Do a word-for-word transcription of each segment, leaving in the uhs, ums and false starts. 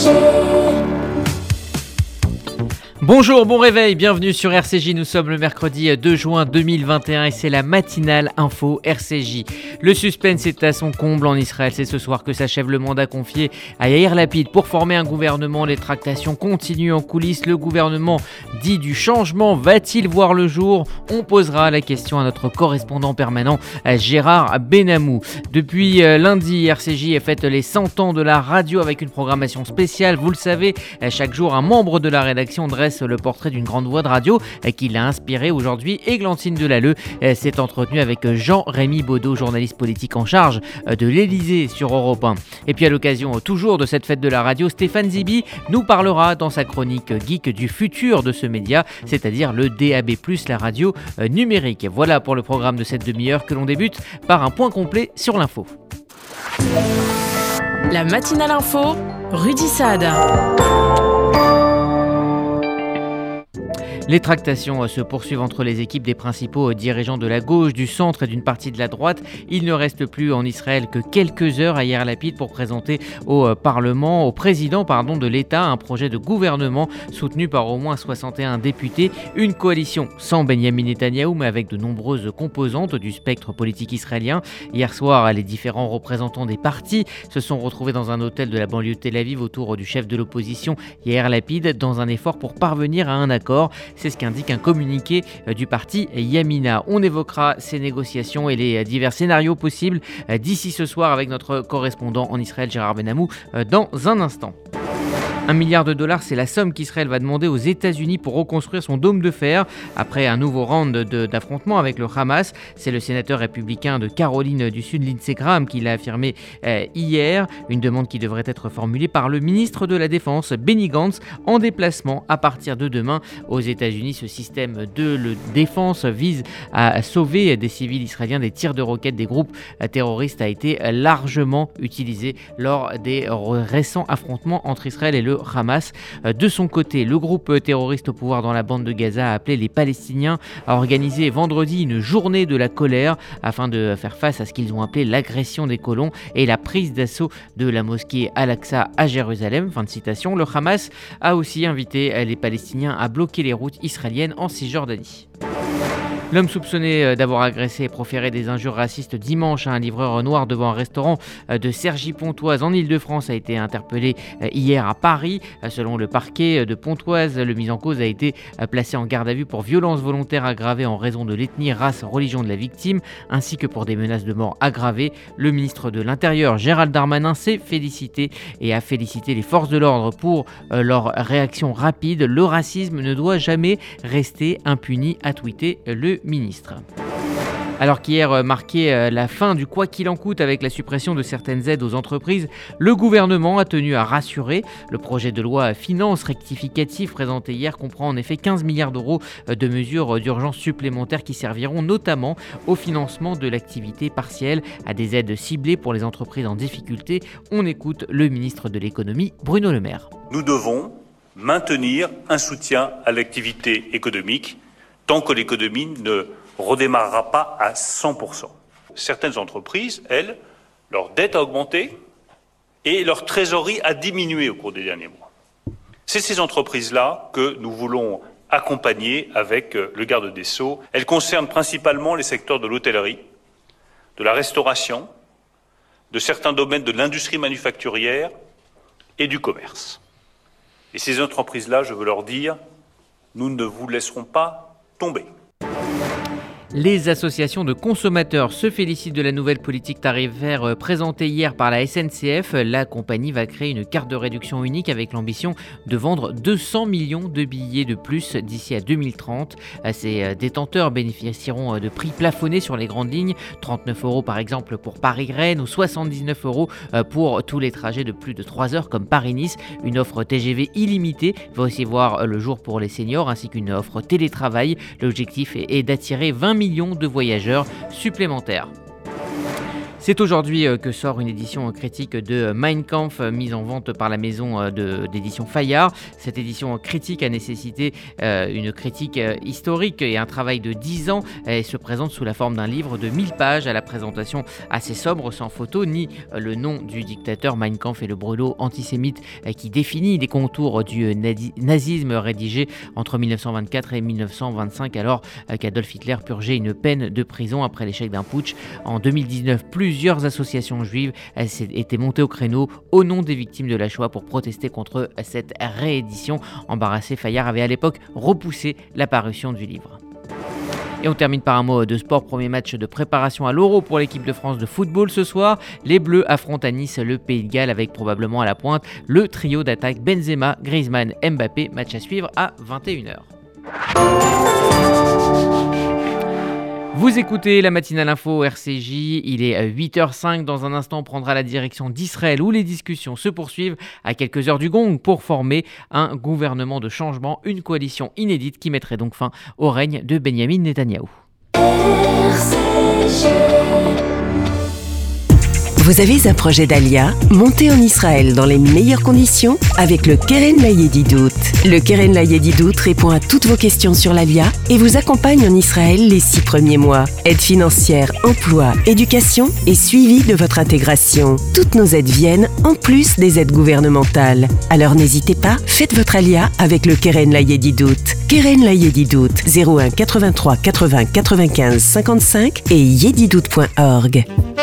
Bonjour, bon réveil, bienvenue sur R C J, nous sommes le mercredi deux juin deux mille vingt et un et c'est la matinale info R C J. Le suspense est à son comble en Israël, c'est ce soir que s'achève le mandat confié à Yair Lapid pour former un gouvernement. Les tractations continuent en coulisses, le gouvernement dit du changement va-t-il voir le jour? On posera la question à notre correspondant permanent Gérard Benamou. Depuis lundi, R C J fête les cent ans de la radio avec une programmation spéciale, vous le savez, chaque jour un membre de la rédaction dresse le portrait d'une grande voix de radio qui l'a inspiré aujourd'hui. Églantine Delalleux s'est entretenue avec Jean-Rémy Baudot, journaliste politique en charge de l'Élysée sur Europe un. Et puis à l'occasion toujours de cette fête de la radio, Stéphane Zibi nous parlera dans sa chronique geek du futur de ce média, c'est-à-dire le D A B plus, la radio numérique. Voilà pour le programme de cette demi-heure que l'on débute par un point complet sur l'info. La matinale info, Rudy Saad. Les tractations se poursuivent entre les équipes des principaux dirigeants de la gauche, du centre et d'une partie de la droite. Il ne reste plus en Israël que quelques heures à Yair Lapid pour présenter au Parlement, au président pardon, de l'État, un projet de gouvernement soutenu par au moins soixante et un députés. Une coalition sans Benyamin Netanyahou, mais avec de nombreuses composantes du spectre politique israélien. Hier soir, les différents représentants des partis se sont retrouvés dans un hôtel de la banlieue de Tel Aviv autour du chef de l'opposition, Yair Lapid, dans un effort pour parvenir à un accord. C'est ce qu'indique un communiqué du parti Yamina. On évoquera ces négociations et les divers scénarios possibles d'ici ce soir avec notre correspondant en Israël, Gérard Benamou, dans un instant. Un milliard de dollars, c'est la somme qu'Israël va demander aux États-Unis pour reconstruire son dôme de fer après un nouveau round de, d'affrontement avec le Hamas. C'est le sénateur républicain de Caroline du Sud, Lindsey Graham, qui l'a affirmé euh, hier. Une demande qui devrait être formulée par le ministre de la Défense, Benny Gantz, en déplacement à partir de demain aux États-Unis. Ce système de le défense vise à sauver des civils israéliens des tirs de roquettes des groupes terroristes, a été largement utilisé lors des récents affrontements entre Israël et le Hamas. De son côté, le groupe terroriste au pouvoir dans la bande de Gaza a appelé les Palestiniens à organiser vendredi une journée de la colère afin de faire face à ce qu'ils ont appelé l'agression des colons et la prise d'assaut de la mosquée Al-Aqsa à Jérusalem. Fin de citation. Le Hamas a aussi invité les Palestiniens à bloquer les routes israéliennes en Cisjordanie. L'homme soupçonné d'avoir agressé et proféré des injures racistes dimanche à un livreur noir devant un restaurant de Cergy-Pontoise en Île-de-France a été interpellé hier à Paris. Selon le parquet de Pontoise, le mis en cause a été placé en garde à vue pour violence volontaire aggravée en raison de l'ethnie, race, religion de la victime, ainsi que pour des menaces de mort aggravées. Le ministre de l'Intérieur, Gérald Darmanin, s'est félicité et a félicité les forces de l'ordre pour leur réaction rapide. Le racisme ne doit jamais rester impuni, a tweeté le ministre. Alors qu'hier marquait la fin du quoi qu'il en coûte avec la suppression de certaines aides aux entreprises, le gouvernement a tenu à rassurer. Le projet de loi finance rectificative présenté hier comprend en effet quinze milliards d'euros de mesures d'urgence supplémentaires qui serviront notamment au financement de l'activité partielle, à des aides ciblées pour les entreprises en difficulté. On écoute le ministre de l'économie, Bruno Le Maire. Nous devons maintenir un soutien à l'activité économique tant que l'économie ne redémarrera pas à cent pour cent. Certaines entreprises, elles, leur dette a augmenté et leur trésorerie a diminué au cours des derniers mois. C'est ces entreprises-là que nous voulons accompagner avec le garde des Sceaux. Elles concernent principalement les secteurs de l'hôtellerie, de la restauration, de certains domaines de l'industrie manufacturière et du commerce. Et ces entreprises-là, je veux leur dire, nous ne vous laisserons pas tomber. Les associations de consommateurs se félicitent de la nouvelle politique tarifaire présentée hier par la S N C F. La compagnie va créer une carte de réduction unique avec l'ambition de vendre deux cents millions de billets de plus d'ici à deux mille trente. Ces détenteurs bénéficieront de prix plafonnés sur les grandes lignes, trente-neuf euros par exemple pour Paris-Rennes ou soixante-dix-neuf euros pour tous les trajets de plus de trois heures comme Paris-Nice. Une offre T G V illimitée va aussi voir le jour pour les seniors ainsi qu'une offre télétravail. L'objectif est d'attirer vingt millions de voyageurs supplémentaires. C'est aujourd'hui que sort une édition critique de Mein Kampf mise en vente par la maison de, d'édition Fayard. Cette édition critique a nécessité euh, une critique historique et un travail de dix ans et se présente sous la forme d'un livre de mille pages à la présentation assez sobre, sans photo ni le nom du dictateur. Mein Kampf et le brûlot antisémite qui définit les contours du nazisme, rédigé entre dix-neuf cent vingt-quatre et dix-neuf cent vingt-cinq, alors qu'Adolf Hitler purgeait une peine de prison après l'échec d'un putsch. En deux mille dix-neuf, plusieurs associations juives étaient montées au créneau au nom des victimes de la Shoah pour protester contre cette réédition. Embarrassé, Fayard avait à l'époque repoussé la parution du livre. Et on termine par un mot de sport. Premier match de préparation à l'Euro pour l'équipe de France de football ce soir. Les Bleus affrontent à Nice le Pays de Galles avec probablement à la pointe le trio d'attaque Benzema, Griezmann, Mbappé. Match à suivre à vingt et une heures. Vous écoutez la matinale info R C J, il est huit heures cinq. Dans un instant, on prendra la direction d'Israël où les discussions se poursuivent à quelques heures du gong pour former un gouvernement de changement, une coalition inédite qui mettrait donc fin au règne de Benyamin Netanyahou. R C J. Vous avez un projet d'Alia? Montez en Israël dans les meilleures conditions avec le Keren Layedidout. Le Keren Layedidout répond à toutes vos questions sur l'Alia et vous accompagne en Israël les six premiers mois. Aide financière, emploi, éducation et suivi de votre intégration. Toutes nos aides viennent en plus des aides gouvernementales. Alors n'hésitez pas, faites votre Alia avec le Keren Layedidout. Keren Layedidout, zéro un quatre-vingt-trois quatre-vingts quatre-vingt-quinze cinquante-cinq et yedidout point org.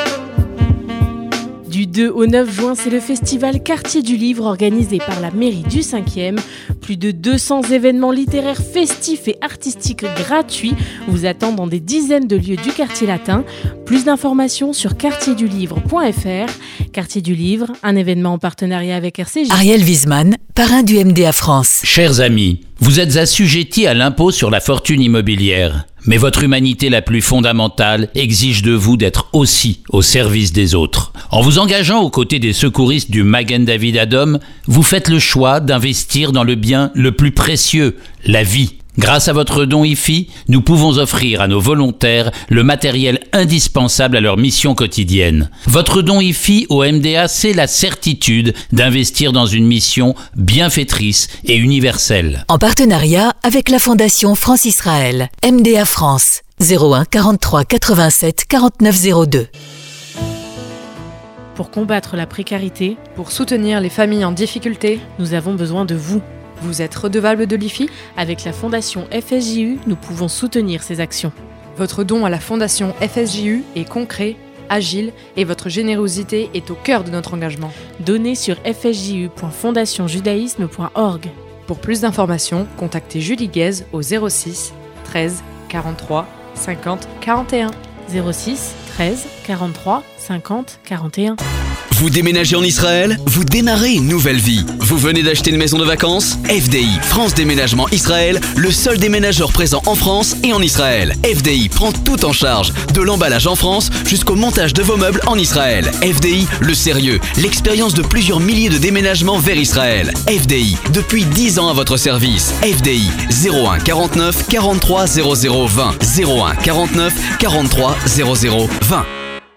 Du deux au neuf juin, c'est le festival Quartier du Livre organisé par la mairie du cinquième. Plus de deux cents événements littéraires festifs et artistiques gratuits vous attendent dans des dizaines de lieux du quartier latin. Plus d'informations sur quartier du livre point f r. Quartier du Livre, un événement en partenariat avec R C J. Ariel Wiesmann, parrain du M D A France. Chers amis, vous êtes assujettis à l'impôt sur la fortune immobilière. Mais votre humanité la plus fondamentale exige de vous d'être aussi au service des autres. En vous engageant aux côtés des secouristes du Magen David Adom, vous faites le choix d'investir dans le bien le plus précieux, la vie. Grâce à votre don I F I, nous pouvons offrir à nos volontaires le matériel indispensable à leur mission quotidienne. Votre don I F I au M D A, c'est la certitude d'investir dans une mission bienfaitrice et universelle. En partenariat avec la Fondation France-Israël, M D A France, zéro un quarante-trois quatre-vingt-sept quarante-neuf zéro deux. Pour combattre la précarité, pour soutenir les familles en difficulté, nous avons besoin de vous. Vous êtes redevable de l'I F I ? Avec la Fondation F S J U, nous pouvons soutenir ces actions. Votre don à la Fondation F S J U est concret, agile et votre générosité est au cœur de notre engagement. Donnez sur f s j u point fondation judaïsme point org. Pour plus d'informations, contactez Julie Guez au zéro six treize quarante-trois cinquante quarante et un. zéro six treize quarante-trois cinquante quarante et un. Vous déménagez en Israël? Vous démarrez une nouvelle vie. Vous venez d'acheter une maison de vacances? F D I, France Déménagement Israël, le seul déménageur présent en France et en Israël. F D I prend tout en charge, de l'emballage en France jusqu'au montage de vos meubles en Israël. F D I, le sérieux, l'expérience de plusieurs milliers de déménagements vers Israël. F D I, depuis dix ans à votre service. F D I, zéro un quarante-neuf quarante-trois zéro zéro vingt. zéro un quarante-neuf quarante-trois zéro zéro vingt.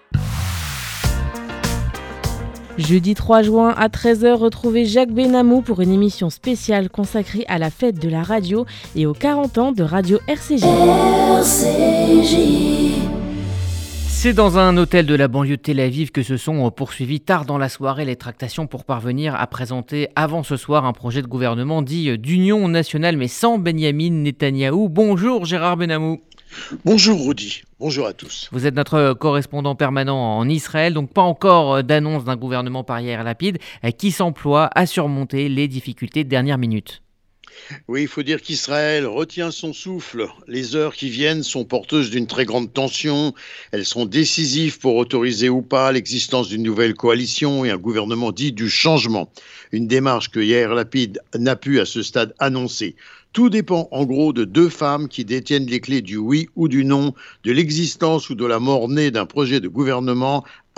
Jeudi trois juin à treize heures, retrouvez Jacques Benamou pour une émission spéciale consacrée à la fête de la radio et aux quarante ans de Radio R C J. R C J. C'est dans un hôtel de la banlieue de Tel Aviv que se sont poursuivies tard dans la soirée les tractations pour parvenir à présenter avant ce soir un projet de gouvernement dit d'union nationale mais sans Benyamin Netanyahou. Bonjour Gérard Benamou. Bonjour Rudy, bonjour à tous. Vous êtes notre correspondant permanent en Israël, donc pas encore d'annonce d'un gouvernement par Yair Lapid qui s'emploie à surmonter les difficultés de dernière minute. Oui, il faut dire qu'Israël retient son souffle. Les heures qui viennent sont porteuses d'une très grande tension. Elles seront décisives pour autoriser ou pas l'existence d'une nouvelle coalition et un gouvernement dit du changement. Une démarche que Yair Lapid n'a pu à ce stade annoncer. Tout dépend en gros de deux femmes qui détiennent les clés du oui ou du non, de l'existence ou de la mort née d'un projet de gouvernement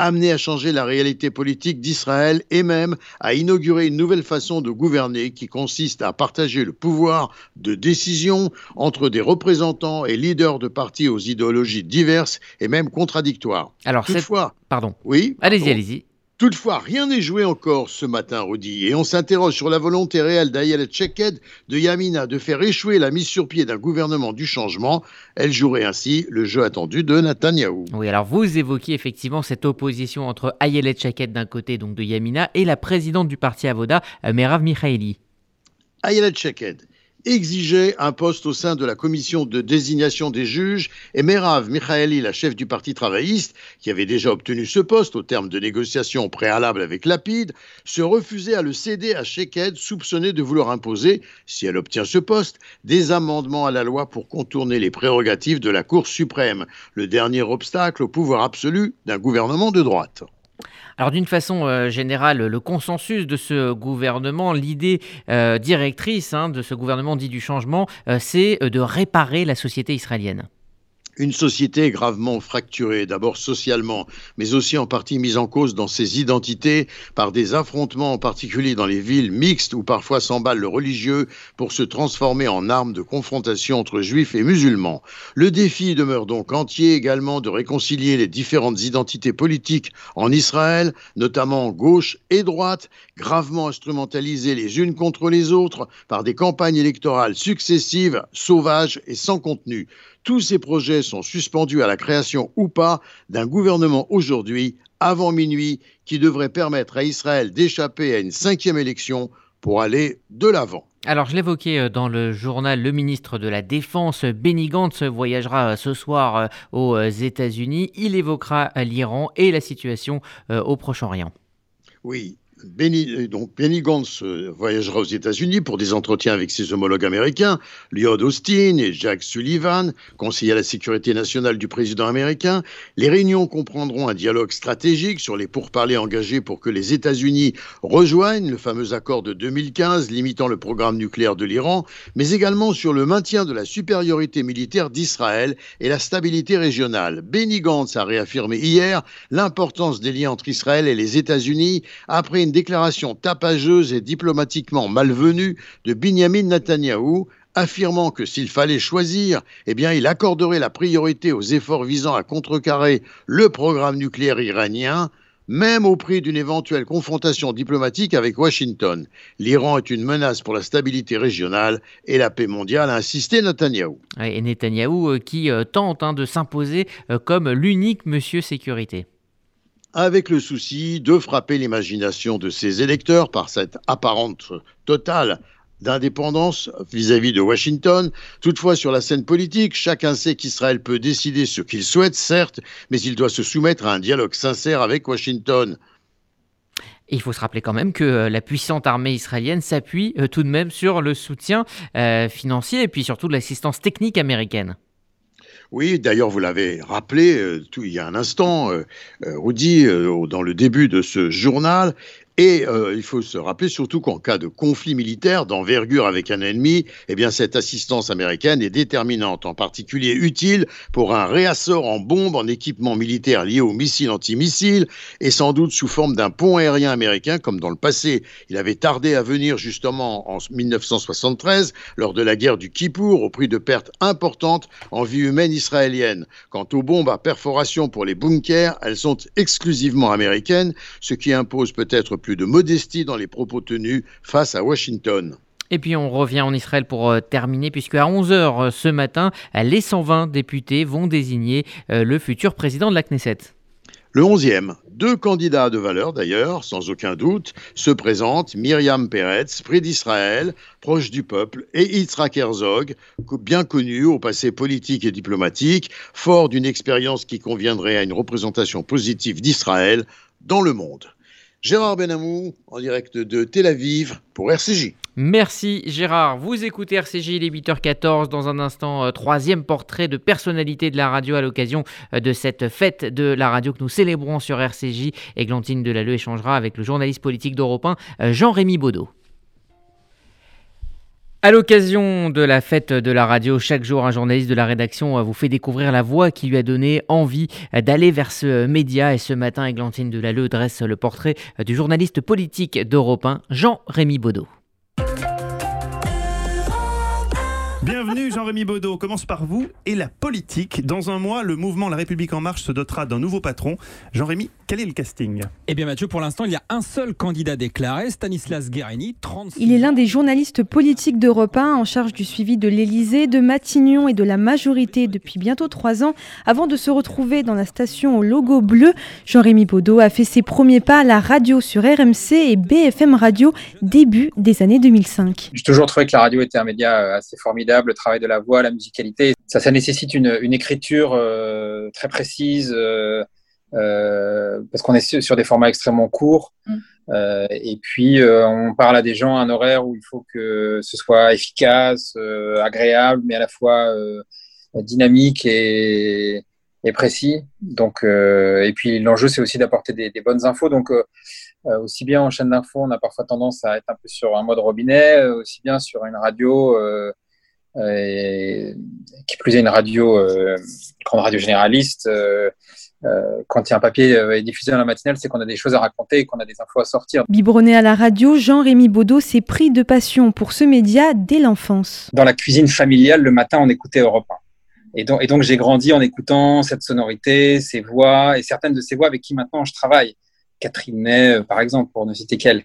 amené à changer la réalité politique d'Israël et même à inaugurer une nouvelle façon de gouverner qui consiste à partager le pouvoir de décision entre des représentants et leaders de partis aux idéologies diverses et même contradictoires. Alors, Toutefois, c'est... Pardon. Oui, allez-y, pardon. allez-y. Toutefois, rien n'est joué encore ce matin, Rudy, et on s'interroge sur la volonté réelle d'Ayelet Sheked de Yamina de faire échouer la mise sur pied d'un gouvernement du changement. Elle jouerait ainsi le jeu attendu de Netanyahou. Oui, alors vous évoquiez effectivement cette opposition entre Ayelet Sheked d'un côté, donc de Yamina, et la présidente du parti Avoda, Merav Michaeli. Ayelet Sheked exigeait un poste au sein de la commission de désignation des juges et Merav Michaeli, la chef du parti travailliste, qui avait déjà obtenu ce poste au terme de négociations préalables avec Lapid, se refusait à le céder à Sheked, soupçonné de vouloir imposer, si elle obtient ce poste, des amendements à la loi pour contourner les prérogatives de la Cour suprême, le dernier obstacle au pouvoir absolu d'un gouvernement de droite. Alors d'une façon euh, générale, le consensus de ce gouvernement, l'idée euh, directrice hein, de ce gouvernement dit du changement, euh, c'est de réparer la société israélienne. Une société gravement fracturée, d'abord socialement, mais aussi en partie mise en cause dans ses identités par des affrontements, en particulier dans les villes mixtes où parfois s'emballe le religieux pour se transformer en arme de confrontation entre juifs et musulmans. Le défi demeure donc entier également de réconcilier les différentes identités politiques en Israël, notamment gauche et droite, gravement instrumentalisées les unes contre les autres par des campagnes électorales successives, sauvages et sans contenu. Tous ces projets sont suspendus à la création ou pas d'un gouvernement aujourd'hui, avant minuit, qui devrait permettre à Israël d'échapper à une cinquième élection pour aller de l'avant. Alors, je l'évoquais dans le journal, le ministre de la Défense, Benny Gantz, voyagera ce soir aux États-Unis. Il évoquera l'Iran et la situation au Proche-Orient. Oui. Benny, donc Benny Gantz voyagera aux États-Unis pour des entretiens avec ses homologues américains, Lloyd Austin et Jack Sullivan, conseiller à la sécurité nationale du président américain. Les réunions comprendront un dialogue stratégique sur les pourparlers engagés pour que les États-Unis rejoignent le fameux accord de deux mille quinze limitant le programme nucléaire de l'Iran, mais également sur le maintien de la supériorité militaire d'Israël et la stabilité régionale. Benny Gantz a réaffirmé hier l'importance des liens entre Israël et les États-Unis après une déclaration tapageuse et diplomatiquement malvenue de Binyamin Netanyahou, affirmant que s'il fallait choisir, eh bien, il accorderait la priorité aux efforts visant à contrecarrer le programme nucléaire iranien, même au prix d'une éventuelle confrontation diplomatique avec Washington. L'Iran est une menace pour la stabilité régionale et la paix mondiale, a insisté Netanyahou. Et Netanyahou qui euh, tente hein, de s'imposer euh, comme l'unique monsieur sécurité. Avec le souci de frapper l'imagination de ses électeurs par cette apparente totale d'indépendance vis-à-vis de Washington. Toutefois, sur la scène politique, chacun sait qu'Israël peut décider ce qu'il souhaite, certes, mais il doit se soumettre à un dialogue sincère avec Washington. Il faut se rappeler quand même que la puissante armée israélienne s'appuie euh, tout de même sur le soutien euh, financier et puis surtout de l'assistance technique américaine. Oui, d'ailleurs, vous l'avez rappelé euh, tout, il y a un instant, euh, euh, Rudy, euh, dans le début de ce journal. Et euh, il faut se rappeler surtout qu'en cas de conflit militaire d'envergure avec un ennemi, eh bien cette assistance américaine est déterminante, en particulier utile pour un réassort en bombes, en équipement militaire lié aux missiles antimissiles, et sans doute sous forme d'un pont aérien américain, comme dans le passé. Il avait tardé à venir justement en dix-neuf cent soixante-treize, lors de la guerre du Kippour, au prix de pertes importantes en vie humaine israélienne. Quant aux bombes à perforation pour les bunkers, elles sont exclusivement américaines, ce qui impose peut-être plus de modestie dans les propos tenus face à Washington. Et puis on revient en Israël pour euh, terminer, puisque à onze heures euh, ce matin, les cent vingt députés vont désigner euh, le futur président de la Knesset. Le onzième, deux candidats de valeur d'ailleurs, sans aucun doute, se présentent Myriam Peretz, près d'Israël, proche du peuple, et Yitzhak Herzog, bien connu au passé politique et diplomatique, fort d'une expérience qui conviendrait à une représentation positive d'Israël dans le monde. Gérard Benamou, en direct de Tel Aviv pour R C J. Merci Gérard. Vous écoutez R C J, il est huit heures quatorze. Dans un instant, euh, troisième portrait de personnalité de la radio à l'occasion euh, de cette fête de la radio que nous célébrons sur R C J. Églantine Delalleux échangera avec le journaliste politique d'Europe un, euh, Jean-Rémy Baudot. À l'occasion de la fête de la radio, chaque jour, un journaliste de la rédaction vous fait découvrir la voix qui lui a donné envie d'aller vers ce média. Et ce matin, Églantine Delalleux dresse le portrait du journaliste politique d'Europe un, Jean-Rémy Baudot. Bienvenue Jean-Rémy Baudot, commence par vous et la politique. Dans un mois, le mouvement La République En Marche se dotera d'un nouveau patron. Jean-Rémy, quel est le casting ? Eh bien Mathieu, pour l'instant, il y a un seul candidat déclaré, Stanislas Guerini, trente-six Il est l'un des journalistes politiques d'Europe un en charge du suivi de l'Élysée, de Matignon et de la majorité depuis bientôt trois ans. Avant de se retrouver dans la station au logo bleu, Jean-Rémy Baudot a fait ses premiers pas à la radio sur R M C et B F M Radio début des années deux mille cinq. J'ai toujours trouvé que la radio était un média assez formidable. Le travail de la voix, la musicalité, ça, ça nécessite une, une écriture euh, très précise euh, euh, parce qu'on est sur, sur des formats extrêmement courts mmh. euh, et puis euh, on parle à des gens à un horaire où il faut que ce soit efficace, euh, agréable, mais à la fois euh, dynamique et, et précis. Donc, euh, et puis l'enjeu, c'est aussi d'apporter des, des bonnes infos. Donc, euh, euh, aussi bien en chaîne d'infos, on a parfois tendance à être un peu sur un mode robinet, euh, aussi bien sur une radio. Euh, Et qui plus est une radio, euh, une grande radio généraliste, euh, euh, quand il y a un papier euh, est diffusé dans la matinale, c'est qu'on a des choses à raconter et qu'on a des infos à sortir. Biberonné à la radio, Jean-Rémy Baudot s'est pris de passion pour ce média dès l'enfance. Dans la cuisine familiale, le matin, on écoutait Europe un. Et donc, et donc j'ai grandi en écoutant cette sonorité, ces voix, et certaines de ces voix avec qui maintenant je travaille. Catherine Ney, par exemple, pour ne citer qu'elle.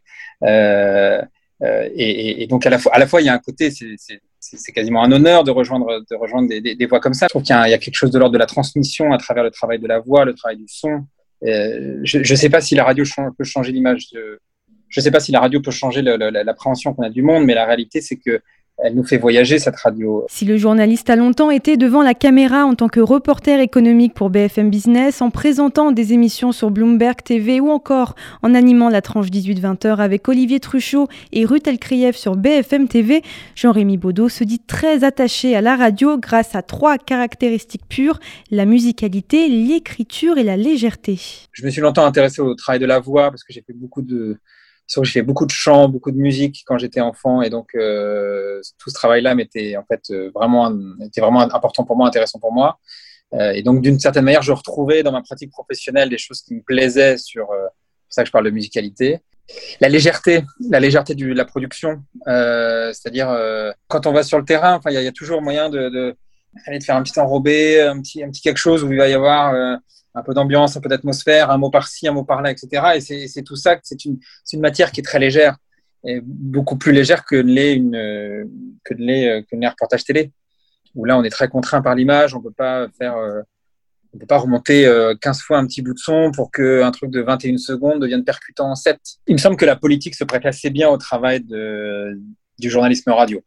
Euh, euh, et, et donc, à la fois, à la fois, il y a un côté... c'est, c'est C'est quasiment un honneur de rejoindre, de rejoindre des, des, des voix comme ça. Je trouve qu'il y a, il y a quelque chose de l'ordre de la transmission à travers le travail de la voix, le travail du son. Euh, je ne sais pas si la radio change, peut changer l'image. De, je ne sais pas si la radio peut changer le, le, l'appréhension qu'on a du monde, mais la réalité, c'est que elle nous fait voyager, cette radio. Si le journaliste a longtemps été devant la caméra en tant que reporter économique pour B F M Business, en présentant des émissions sur Bloomberg T V ou encore en animant la tranche dix-huit vingt heures avec Olivier Truchot et Ruth Elkrieff sur B F M T V, Jean-Rémy Baudot se dit très attaché à la radio grâce à trois caractéristiques pures, la musicalité, l'écriture et la légèreté. Je me suis longtemps intéressé au travail de la voix parce que j'ai fait beaucoup de... J'ai fait beaucoup de chants, beaucoup de musique quand j'étais enfant, et donc euh, tout ce travail-là m'était en fait vraiment était vraiment important pour moi, intéressant pour moi. Euh, et donc d'une certaine manière, je retrouvais dans ma pratique professionnelle des choses qui me plaisaient sur. Euh, c'est pour ça que je parle de musicalité. La légèreté, la légèreté de la production, euh, c'est-à-dire euh, quand on va sur le terrain, enfin il y, y a toujours moyen de, de, de faire un petit enrobé, un petit, un petit quelque chose où il va y avoir. Euh, un peu d'ambiance, un peu d'atmosphère, un mot par-ci, un mot par-là, et cetera. Et c'est, c'est tout ça, c'est une, c'est une matière qui est très légère, et beaucoup plus légère que ne l'est une, que ne l'est, que ne l'est un reportage télé, où là, on est très contraint par l'image, on peut pas faire, euh, on peut pas remonter euh, quinze fois un petit bout de son pour qu'un truc de vingt et une secondes devienne percutant en sept. Il me semble que la politique se prête assez bien au travail de, du journalisme radio.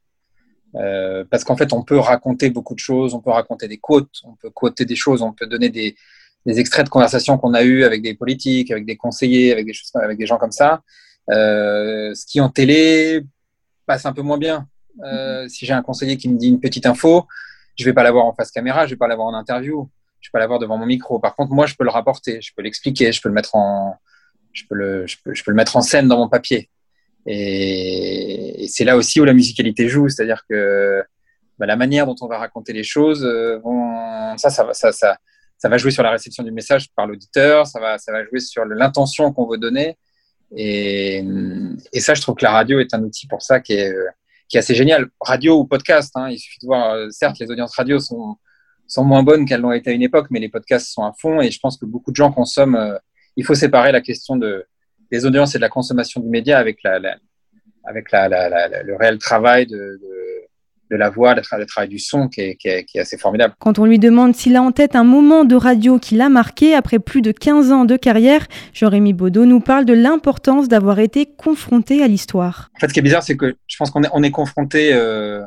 Euh, parce qu'en fait, on peut raconter beaucoup de choses, on peut raconter des quotes, on peut quoter des choses, on peut donner des des extraits de conversations qu'on a eues avec des politiques, avec des conseillers, avec des choses, avec des gens comme ça. Euh, ce qui en télé passe un peu moins bien. Euh, si j'ai un conseiller qui me dit une petite info, je vais pas l'avoir en face caméra, je vais pas l'avoir en interview, je vais pas l'avoir devant mon micro. Par contre, moi, je peux le rapporter, je peux l'expliquer, je peux le mettre en, je peux le, je peux, je peux le mettre en scène dans mon papier. Et, et c'est là aussi où la musicalité joue, c'est-à-dire que bah, la manière dont on va raconter les choses, euh, vont, ça, ça, ça, ça Ça va jouer sur la réception du message par l'auditeur, ça va, ça va jouer sur l'intention qu'on veut donner. Et, et ça, je trouve que la radio est un outil pour ça qui est, qui est assez génial. Radio ou podcast, hein, il suffit de voir, certes, les audiences radio sont, sont moins bonnes qu'elles l'ont été à une époque, mais les podcasts sont à fond et je pense que beaucoup de gens consomment. Euh, il faut séparer la question de, des audiences et de la consommation du média avec, la, la, avec la, la, la, la, le réel travail de, de de la voix, le, tra- le travail du son qui est, qui, est, qui est assez formidable. Quand on lui demande s'il a en tête un moment de radio qui l'a marqué après plus de quinze ans de carrière, Jean-Rémy Baudot nous parle de l'importance d'avoir été confronté à l'histoire. En fait, ce qui est bizarre, c'est que je pense qu'on est, on est confronté euh,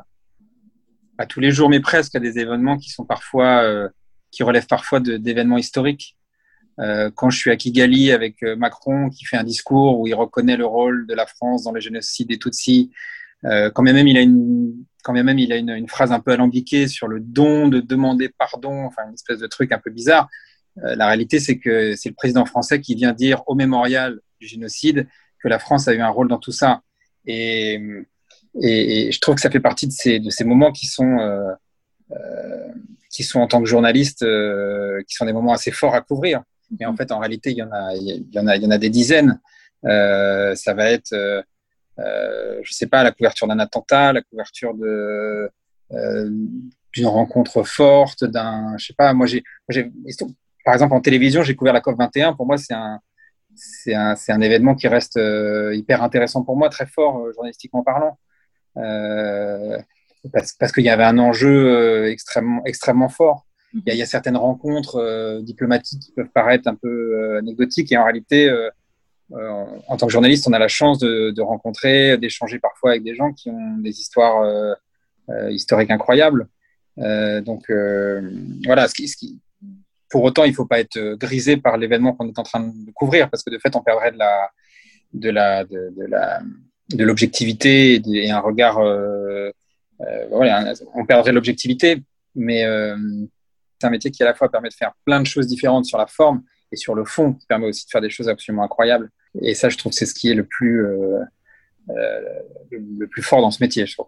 à tous les jours, mais presque, à des événements qui sont parfois, euh, qui relèvent parfois de, d'événements historiques. Euh, quand je suis à Kigali avec Macron qui fait un discours où il reconnaît le rôle de la France dans le génocide des Tutsis, euh, quand même il a une quand même il a une, une phrase un peu alambiquée sur le don de demander pardon, enfin une espèce de truc un peu bizarre. Euh, la réalité, c'est que c'est le président français qui vient dire au mémorial du génocide que la France a eu un rôle dans tout ça. Et, et, et je trouve que ça fait partie de ces, de ces moments qui sont, euh, euh, qui sont en tant que journaliste, euh, qui sont des moments assez forts à couvrir. Mais en fait, en réalité, il y en a, il y en a, il y en a des dizaines. Euh, ça va être, euh, euh, je sais pas, la couverture d'un attentat, la couverture de, euh, d'une rencontre forte, d'un, je sais pas, moi j'ai, j'ai, par exemple en télévision, j'ai couvert la COP vingt et un. Pour moi, c'est un, c'est un, c'est un événement qui reste euh, hyper intéressant pour moi, très fort euh, journalistiquement parlant, euh, parce, parce qu'il y avait un enjeu euh, extrêmement, extrêmement fort. Il y a, il y a certaines rencontres euh, diplomatiques qui peuvent paraître un peu euh, anecdotiques, et en réalité, euh, euh, en tant que journaliste, on a la chance de, de rencontrer, d'échanger parfois avec des gens qui ont des histoires euh, euh, historiques incroyables. Euh, donc euh, voilà, ce qui, ce qui, pour autant, il ne faut pas être grisé par l'événement qu'on est en train de couvrir, parce que de fait, on perdrait de la, de la, de, de la, de l'objectivité et un regard. Euh, euh, voilà, on perdrait l'objectivité, mais euh, c'est un métier qui à la fois permet de faire plein de choses différentes sur la forme et sur le fond, qui permet aussi de faire des choses absolument incroyables. Et ça, je trouve que c'est ce qui est le plus, euh, euh, le, le plus fort dans ce métier, je trouve.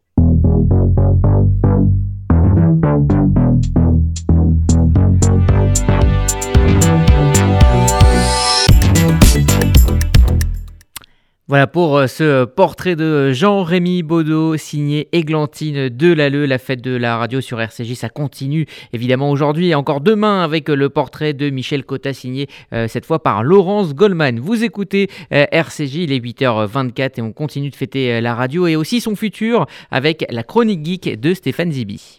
Voilà pour ce portrait de Jean-Rémy Baudot, signé Églantine Delalleux. La fête de la radio sur R C J, ça continue évidemment aujourd'hui et encore demain avec le portrait de Michel Cotta, signé euh, cette fois par Laurence Goldman. Vous écoutez euh, R C J, il est huit heures vingt-quatre et on continue de fêter euh, la radio et aussi son futur avec la chronique geek de Stéphane Zibi.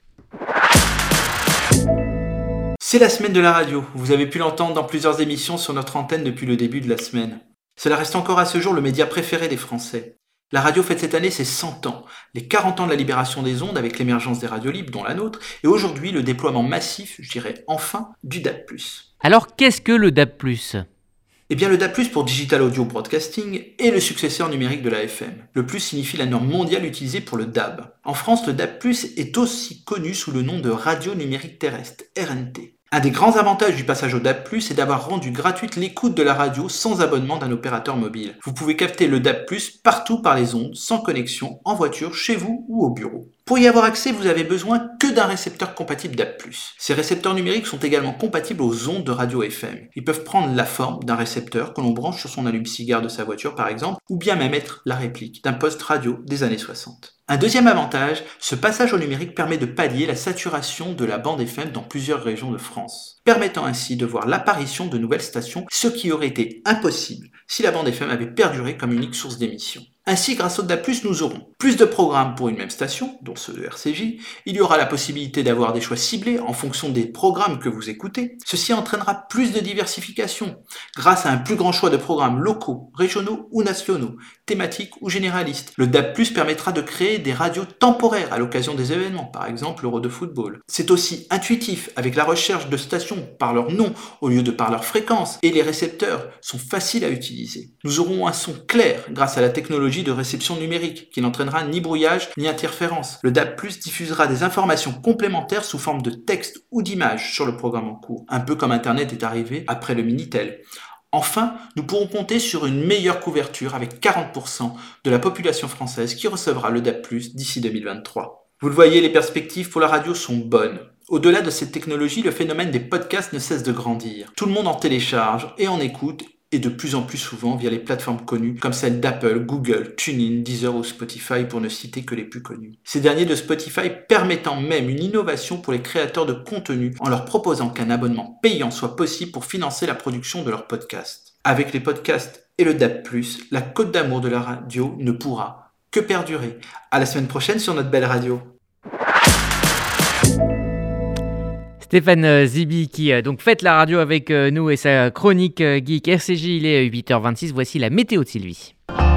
C'est la semaine de la radio. Vous avez pu l'entendre dans plusieurs émissions sur notre antenne depuis le début de la semaine. Cela reste encore à ce jour le média préféré des Français. La radio fête cette année ses cent ans, les quarante ans de la libération des ondes avec l'émergence des radios libres, dont la nôtre, et aujourd'hui le déploiement massif, je dirais enfin, du D A B plus. Alors qu'est-ce que le D A B plus ? Eh bien le D A B plus pour Digital Audio Broadcasting est le successeur numérique de l'A F M. Le plus signifie la norme mondiale utilisée pour le D A B. En France, le D A B plus est aussi connu sous le nom de radio numérique terrestre, R N T. Un des grands avantages du passage au D A B plus, est d'avoir rendu gratuite l'écoute de la radio sans abonnement d'un opérateur mobile. Vous pouvez capter le D A B plus partout par les ondes, sans connexion, en voiture, chez vous ou au bureau. Pour y avoir accès, vous avez besoin que d'un récepteur compatible D A B plus. Ces récepteurs numériques sont également compatibles aux ondes de radio F M. Ils peuvent prendre la forme d'un récepteur que l'on branche sur son allume-cigare de sa voiture par exemple, ou bien même être la réplique d'un poste radio des années soixante. Un deuxième avantage, ce passage au numérique permet de pallier la saturation de la bande F M dans plusieurs régions de France, permettant ainsi de voir l'apparition de nouvelles stations, ce qui aurait été impossible si la bande F M avait perduré comme unique source d'émission. Ainsi, grâce au D A B plus, nous aurons plus de programmes pour une même station, dont ceux de R C J. Il y aura la possibilité d'avoir des choix ciblés en fonction des programmes que vous écoutez. Ceci entraînera plus de diversification, grâce à un plus grand choix de programmes locaux, régionaux ou nationaux, thématiques ou généralistes. Le D A B plus permettra de créer des radios temporaires à l'occasion des événements, par exemple l'Euro de football. C'est aussi intuitif, avec la recherche de stations par leur nom au lieu de par leur fréquence, et les récepteurs sont faciles à utiliser. Nous aurons un son clair grâce à la technologie de réception numérique, qui n'entraînera ni brouillage ni interférence. Le D A B plus diffusera des informations complémentaires sous forme de texte ou d'images sur le programme en cours, un peu comme Internet est arrivé après le Minitel. Enfin, nous pourrons compter sur une meilleure couverture avec quarante pour cent de la population française qui recevra le D A B plus d'ici deux mille vingt-trois. Vous le voyez, les perspectives pour la radio sont bonnes. Au-delà de cette technologie, le phénomène des podcasts ne cesse de grandir. Tout le monde en télécharge et en écoute, et de plus en plus souvent via les plateformes connues comme celles d'Apple, Google, TuneIn, Deezer ou Spotify pour ne citer que les plus connues. Ces derniers de Spotify permettant même une innovation pour les créateurs de contenu en leur proposant qu'un abonnement payant soit possible pour financer la production de leurs podcasts. Avec les podcasts et le D A B plus, la côte d'amour de la radio ne pourra que perdurer. À la semaine prochaine sur notre belle radio. Stéphane Zibi qui euh, donc fête la radio avec euh, nous et sa chronique euh, geek R C J, il est huit heures vingt-six, voici la météo de Sylvie.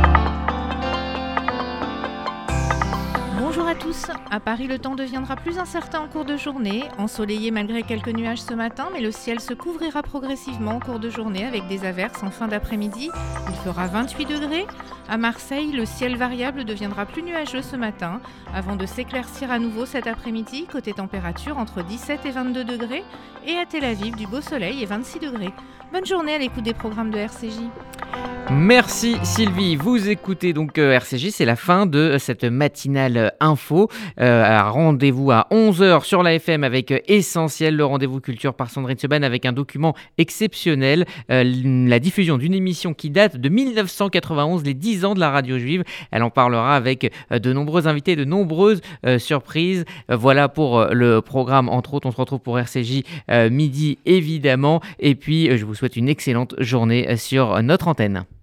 Bonjour à tous. À Paris, le temps deviendra plus incertain en cours de journée, ensoleillé malgré quelques nuages ce matin, mais le ciel se couvrira progressivement en cours de journée avec des averses en fin d'après-midi. Il fera vingt-huit degrés. À Marseille, le ciel variable deviendra plus nuageux ce matin, avant de s'éclaircir à nouveau cet après-midi, côté température entre dix-sept et vingt-deux degrés, et à Tel Aviv, du beau soleil et vingt-six degrés. Bonne journée à l'écoute des programmes de R C J. Merci Sylvie, vous écoutez donc euh, R C J, c'est la fin de euh, cette matinale euh, info. Euh, rendez-vous à onze heures sur la F M avec euh, Essentiel, le rendez-vous culture par Sandrine Seban avec un document exceptionnel, euh, la diffusion d'une émission qui date de dix-neuf cent quatre-vingt-onze, les dix ans de la radio juive. Elle en parlera avec euh, de nombreux invités, de nombreuses euh, surprises. Euh, voilà pour euh, le programme, entre autres, on se retrouve pour R C J euh, midi évidemment. Et puis euh, je vous souhaite une excellente journée euh, sur notre antenne.